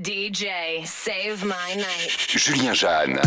DJ, save my night. Julien Jeanne.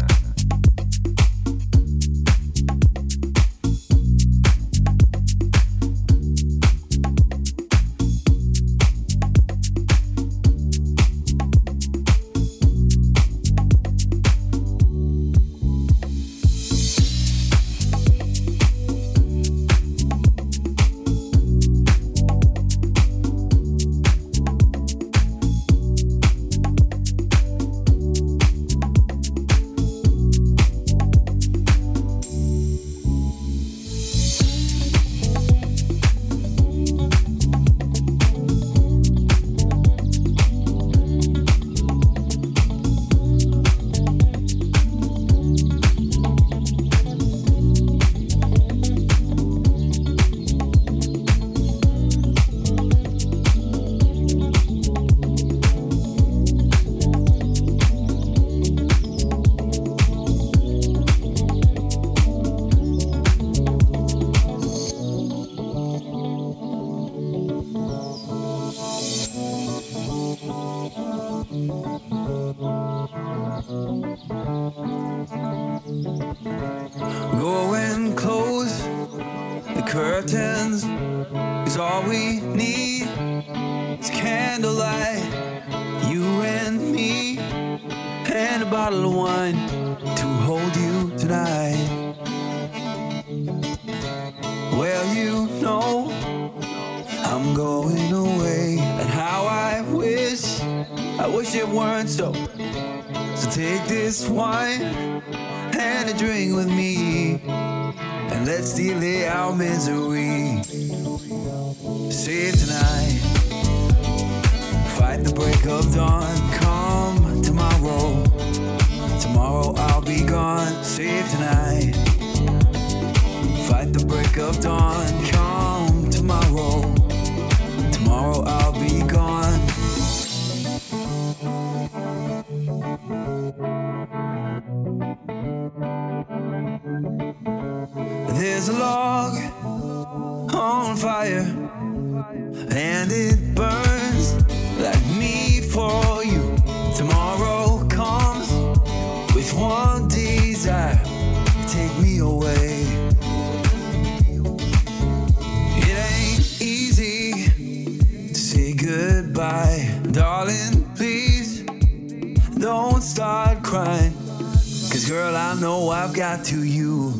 Going close, the curtains is all we need. It's candlelight, you and me, and a bottle of wine to hold you tonight. Well, you know I'm going away, and how I wish it weren't so. So take this wine and a drink with me, and let's delay our misery. Save tonight, fight the break of dawn. Come tomorrow, tomorrow I'll be gone. Save tonight, fight the break of dawn. Come tomorrow, tomorrow I'll be gone. There's a log on fire, and it burns like me for you. Tomorrow comes with one desire, take me away. It ain't easy to say goodbye, darling, please don't start crying, 'cause girl, I know I've got to you.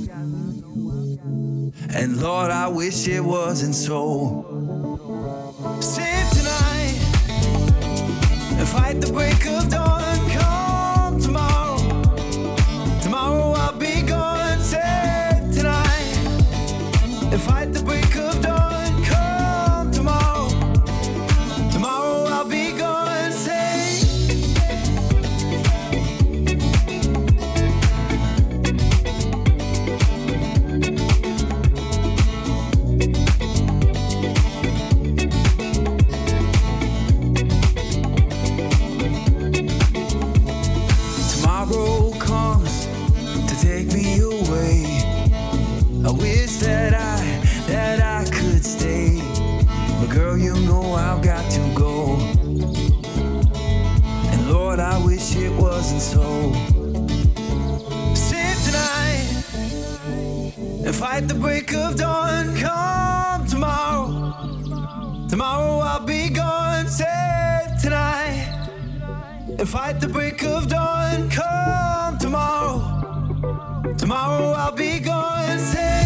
And Lord, I wish it wasn't so. Save tonight and fight the break of dawn. Come tomorrow, tomorrow I'll be gone. Save tonight and fight the break of dawn. Come tomorrow, tomorrow I'll be gone. Save. So save tonight and fight the break of dawn. Come tomorrow, tomorrow I'll be gone. Save tonight and fight the break of dawn. Come tomorrow, tomorrow I'll be gone. Save.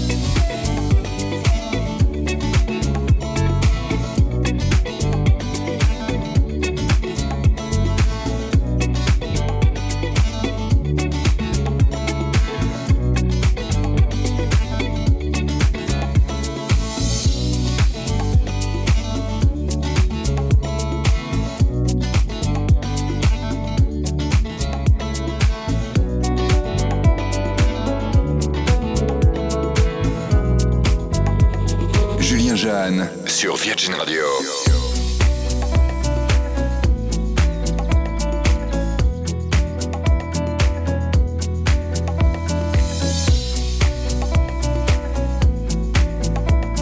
Jeanne sur Virgin Radio.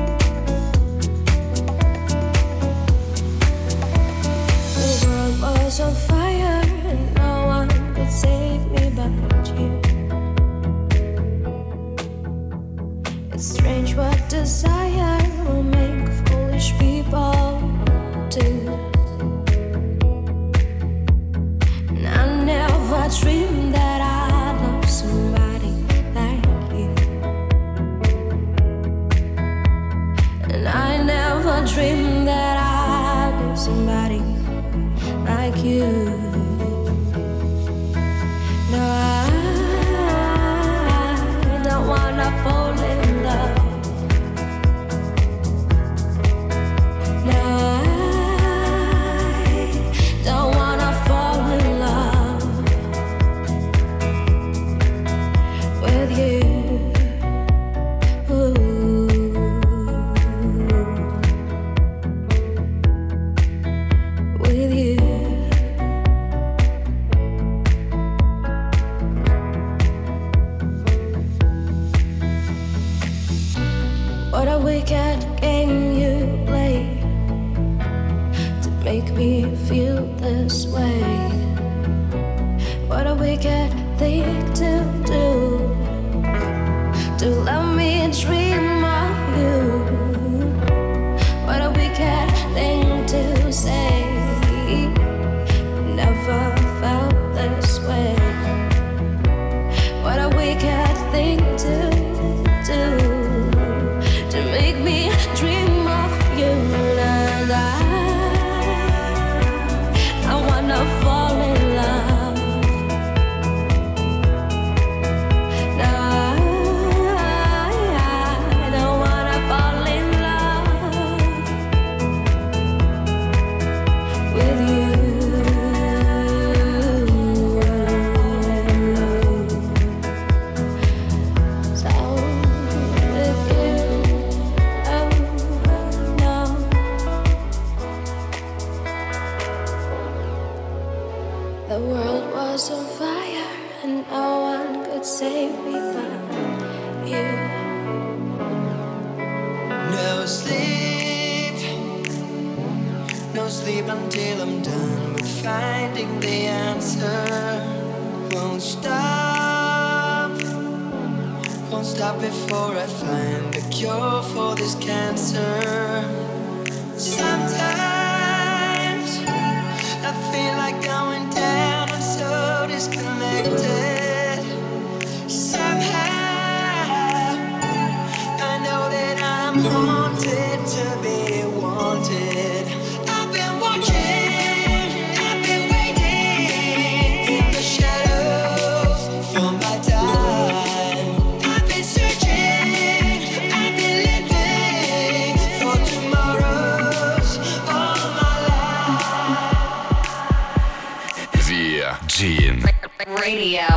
The world was was on fire and no one could save me but you. It's strange what desire will make foolish people do. And I never dreamed that I'd love somebody like you. And I never dreamed that I'd be somebody like you. No, I don't wanna fall in love. No, I don't wanna fall in love with you. Ooh. With you. What a wicked game you play to make me feel this way. What a wicked thing to do, to let me dream of you. What a wicked thing to say. Never felt this way. What a wicked thing to do, to make me dream of you. And I wanna fall in love. No, I don't wanna fall in love with you. So with you, oh no. The world was on fire and no one could save me but you. No sleep, no sleep until I'm done with finding the answer. Won't stop before I find the cure for this cancer. Sometimes I feel like going down, I'm so disconnected. Somehow I know that I'm haunted to be wanted. I've been watching, I've been waiting in the shadows for my time. I've been searching, I've been living for tomorrows all my life. Virgin. Radio.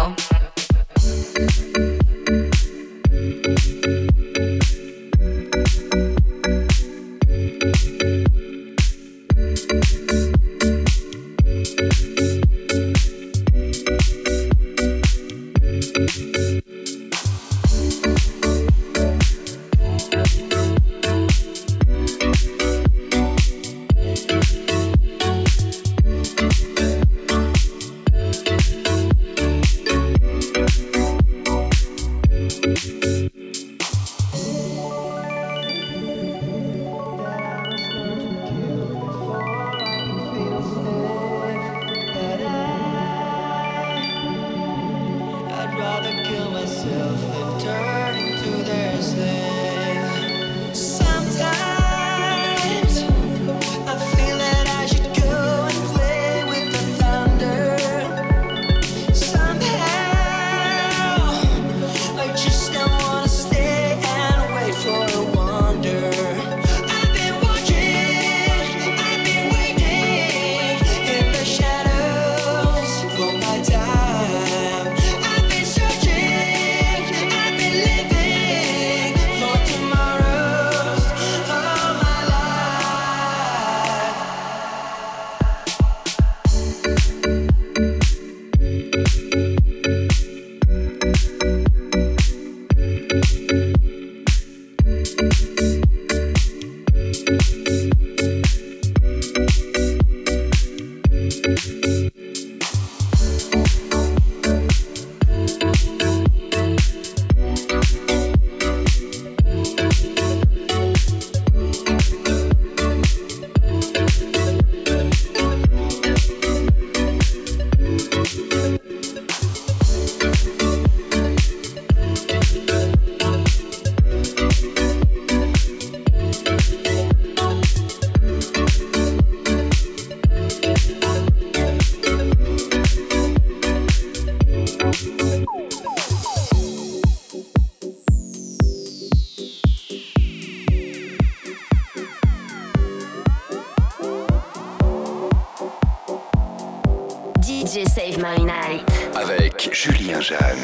DJ Save My Night. Avec Julien Jeanne.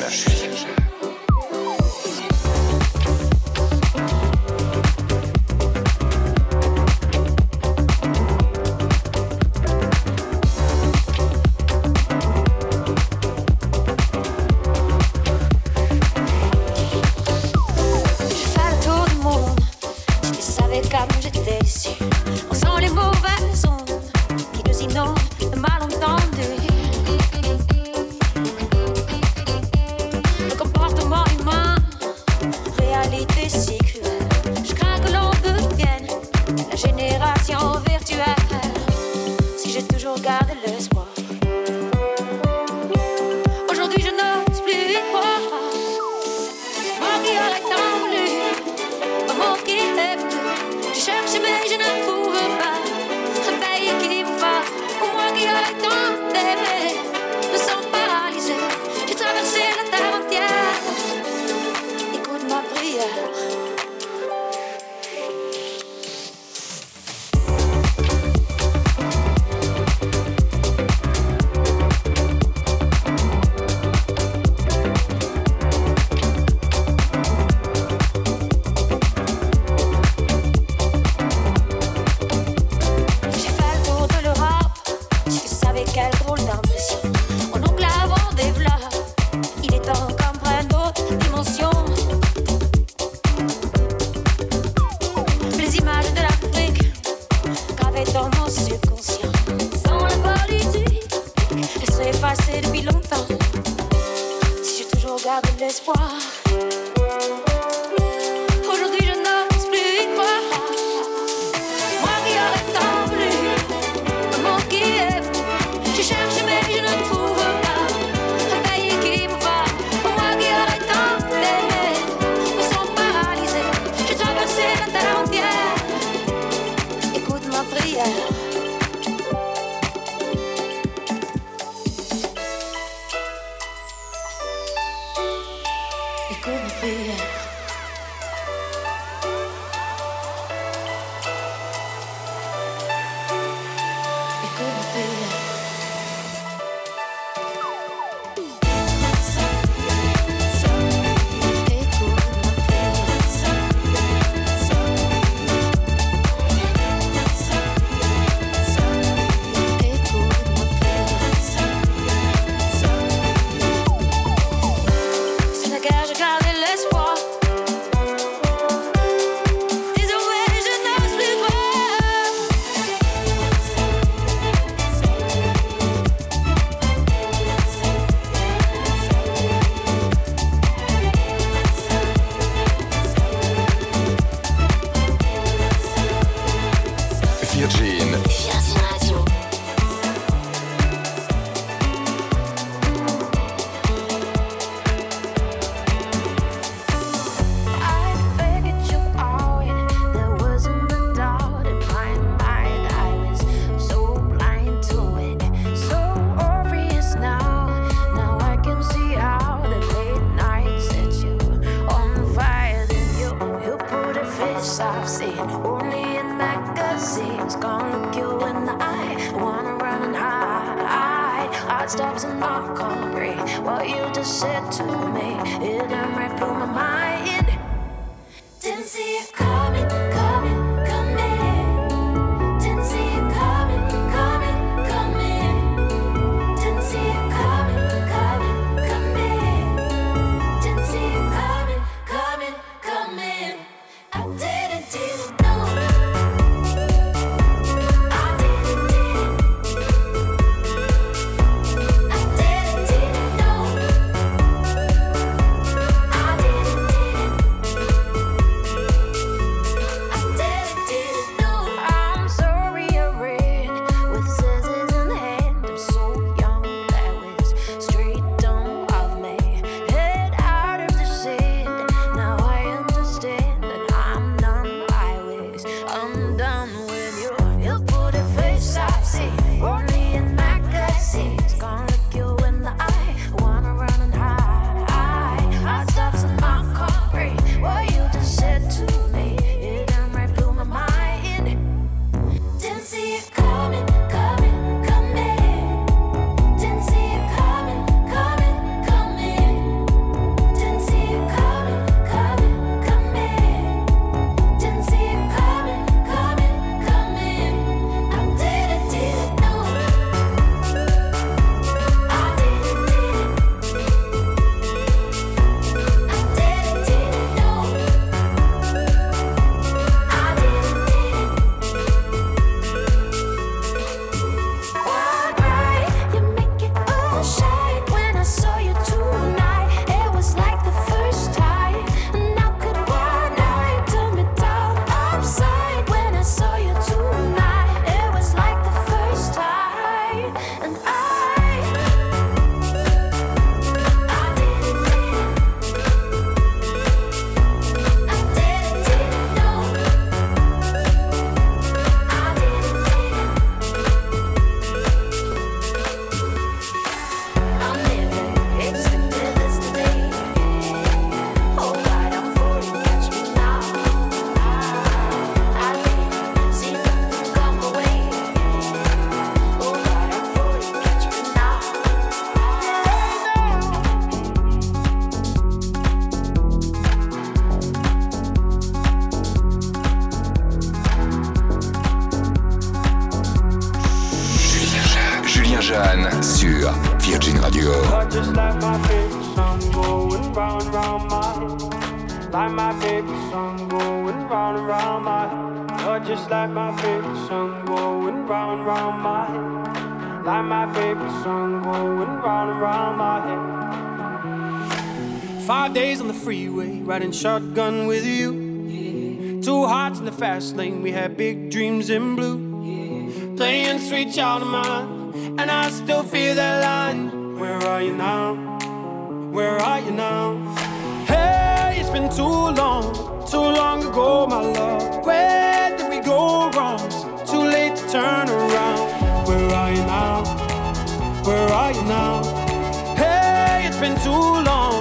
Comme j'étais ici, on sent les mauvaises ondes qui nous inondent de malentendus. Le comportement humain, réalité si cruelle. Je crains que l'on devienne la génération virtuelle. Si j'ai toujours gardé l'espoir, aujourd'hui je n'ose plus y croire. Moi qui aurais tant voulu, moi qui ai voulu. Je cherche mais je ne trouve pas un pays qui me va. Pour moi qui aurais tant aimé, me sens paralysé. J'ai traversé la terre entière. Écoute ma prière. Quelle drôle d'impression. Mon oncle avant des vlogs, il est temps qu'on prenne d'autres dimensions. Les images de l'Afrique gravées dans mon subconscient. Sans la politique, elles seraient effacées depuis longtemps. Si j'ai toujours gardé l'espoir, aujourd'hui je n'ose plus y croire. Moi qui aurais tant voulu, comment qui est fou. Je cherche mais je ne trouve pas un pays qui me va. Pour moi qui aurait tant aimé, me sens paralysé. J'ai traversé la terre entière. Écoute ma prière. Écoute ma prière. Écoute ma prière. Stops and I can't breathe. What you just said to me, it done right through my mind. Didn't see it coming, coming, coming. Didn't see it coming, coming, coming. Didn't see it coming, coming, coming. Didn't see it coming, coming, coming. I didn't know. Julien Jeanne sur Virgin Radio. Just like my favorite song going round and round my head. Like my favorite song going round and round my head. You're just like my favorite song going round and round my head. Like my favorite song going round and round my head. 5 days on the freeway, riding shotgun with you. Yeah. 2 hearts in the fast lane, we had big dreams in blue. Yeah. Playing sweet child of mine, and I still feel that line. Where are you now? Where are you now? Hey, it's been too long ago, my love. Where did we go wrong? It's too late to turn around. Where are you now? Where are you now? Hey, it's been too long.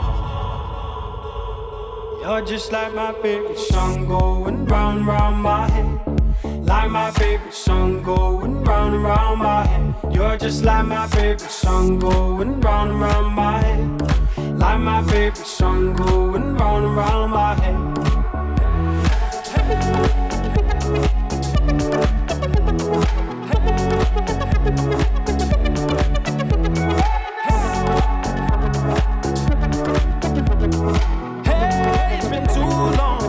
You're just like my favorite song going round and round my head. Like my favorite song going round and round my head. You're just like my favorite song going round and round my head. Like my favorite song going round and round my head. Hey, it's been too long.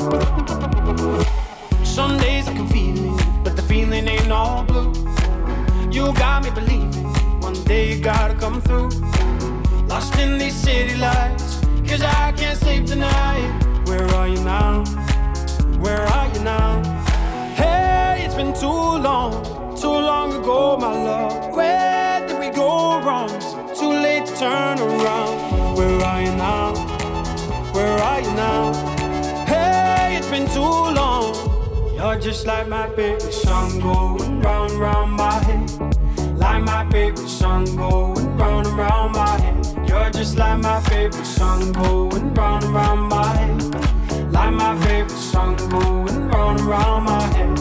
Some days I can feel it, but the feeling ain't all blue. You got me believing one day you gotta come through. Lost in these city lights, cause I can't sleep tonight. Where are you now? Where are you now? Hey, it's been too long ago, my love. Where did we go wrong? It's too late to turn around. Where are you now? Where are you now? Hey, it's been too long. You're just like my favorite song going round and round my head. Like my favorite song going round and round my head. You're just like my favorite song going round and round my head. Like my favorite song going round and round my head.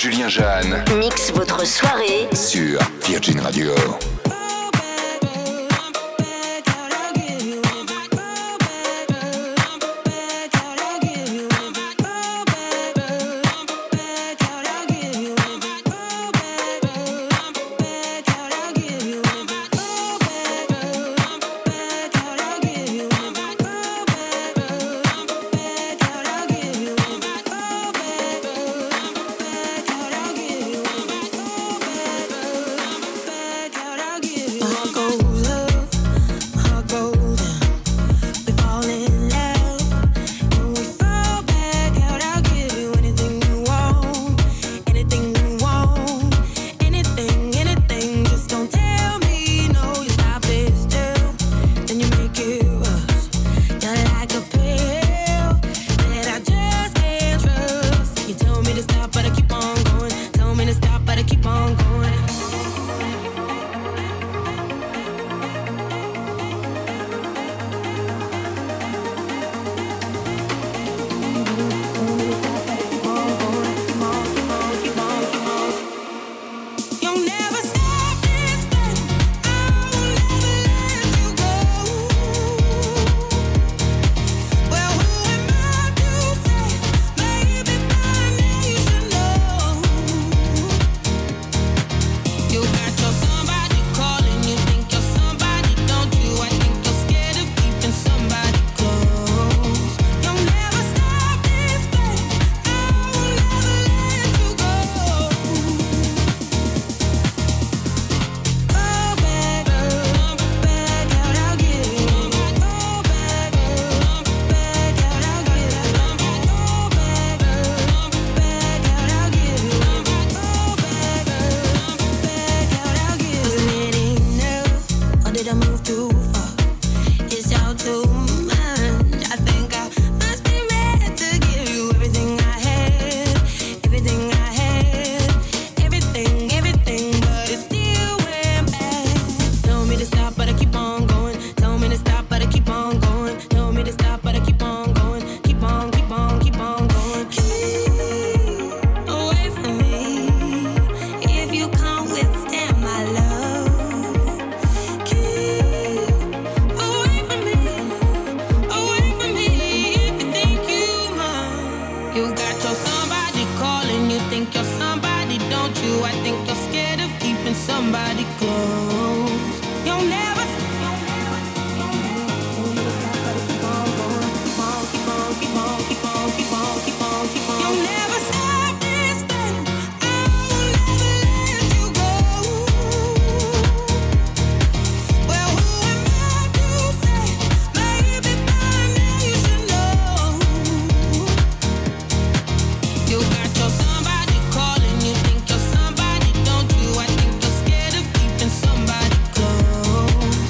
Julien Jeanne Mix votre soirée sur Virgin Radio. Somebody close.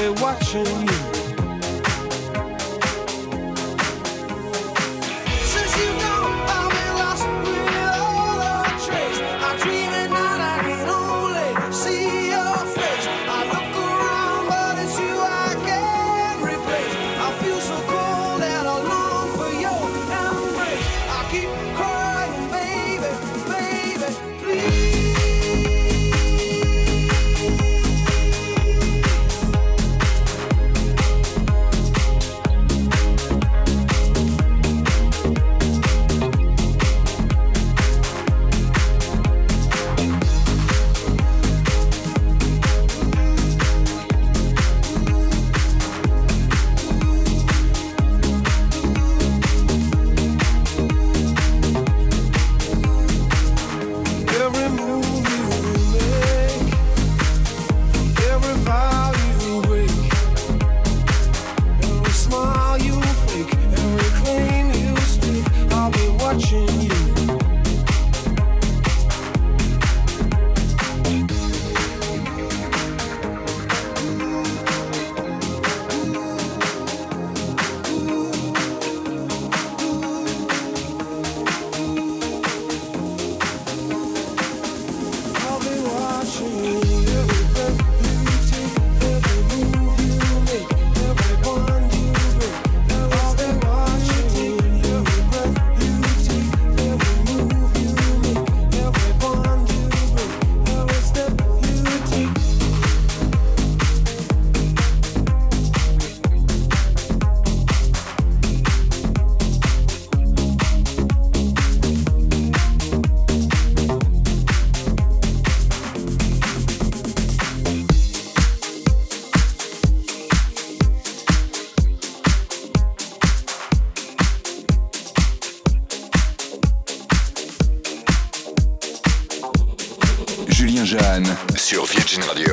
watching you. Julien Jeanne sur Virgin Radio.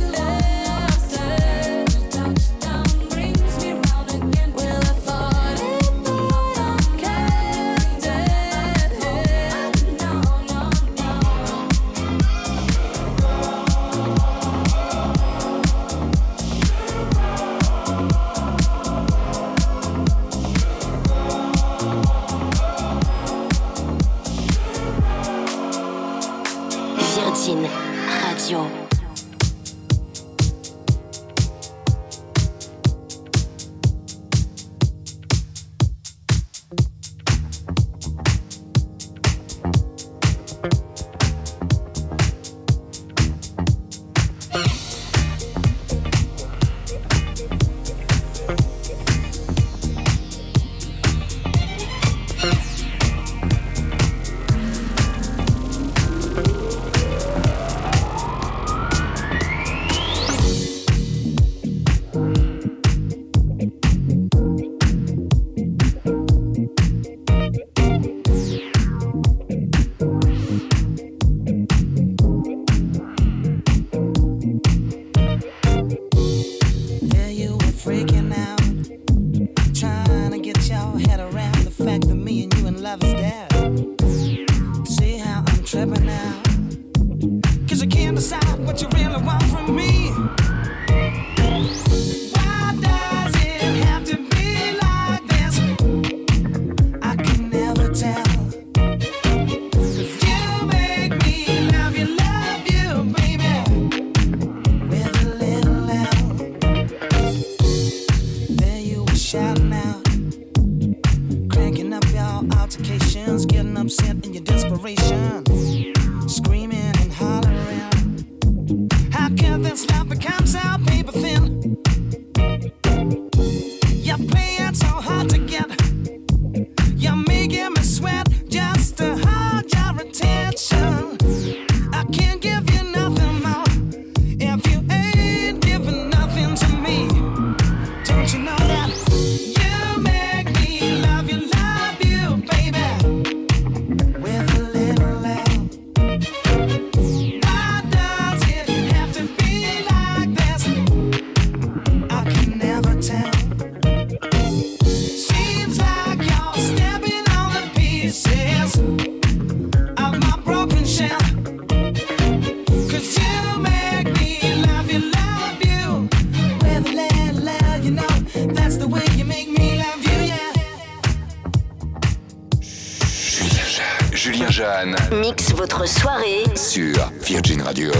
Well, I thought shouting out, cranking up your altercations, getting upset in your desperation, screaming and hollering. How can this love become so paper thin? You're playing so hard to get. You're making me sweat just to hold your attention. I can't give you nothing more if you ain't giving nothing to me. Don't you know that you make me love you, baby, with a little love. Why does it have to be like this? I can never tell. Seems like you're stepping on the pieces of my broken shell. 'Cause you make me love you with a little love, you know. That's the way you make me love you, yeah. Julien Jeanne Mix votre soirée sur Virgin Radio.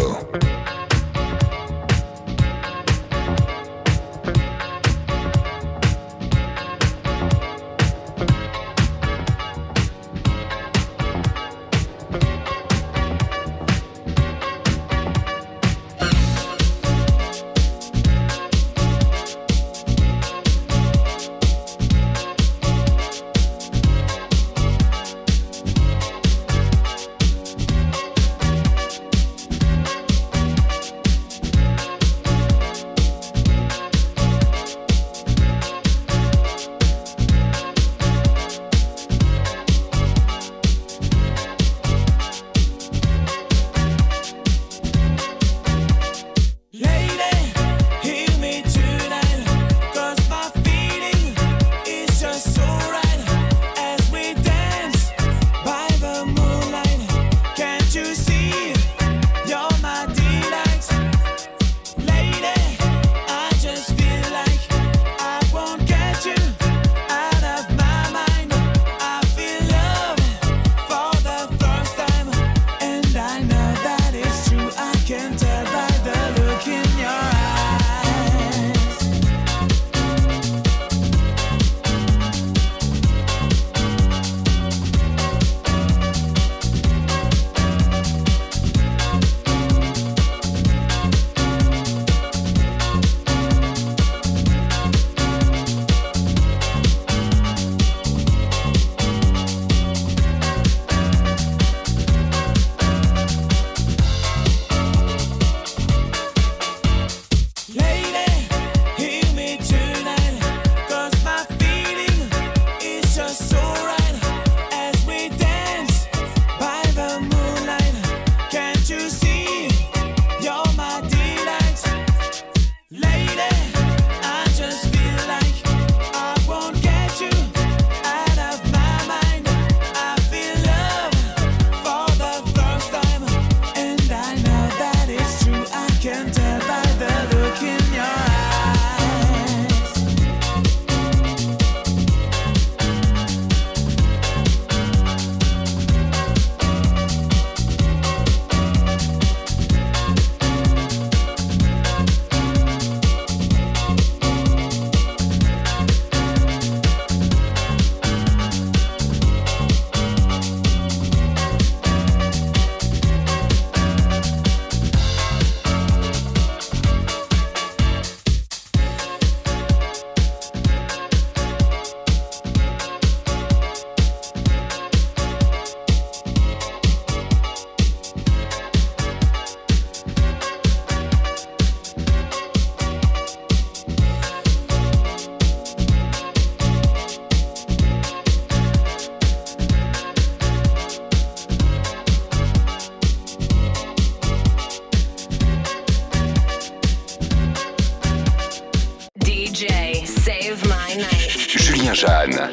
Julien Jeanne.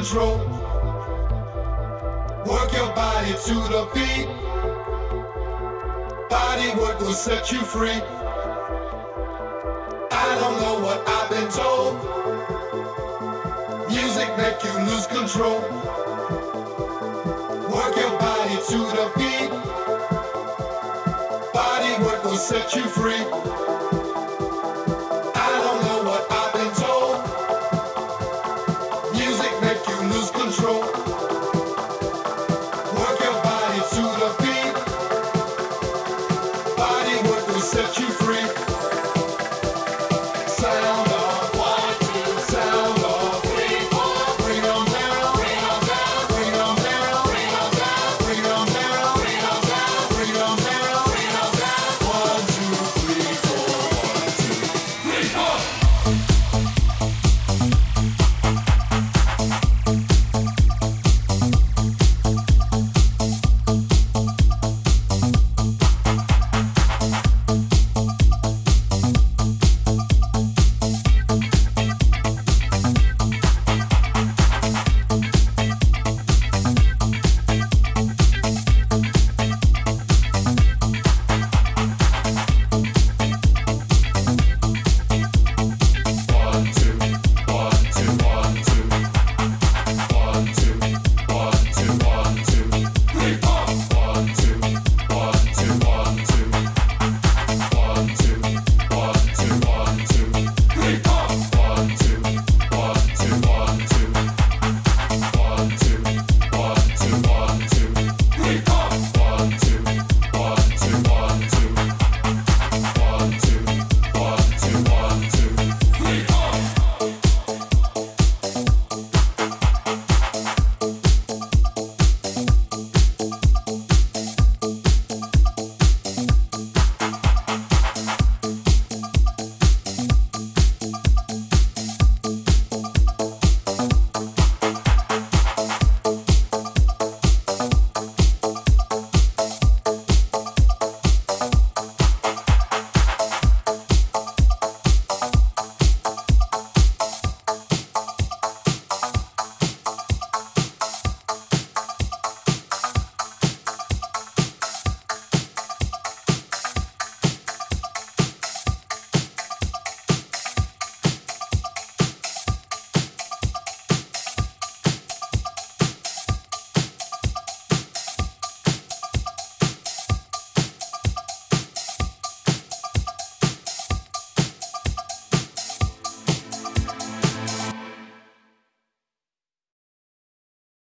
control. Work your body to the beat. Body work will set you free. I don't know what I've been told. Music make you lose control. Work your body to the beat. Body work will set you free.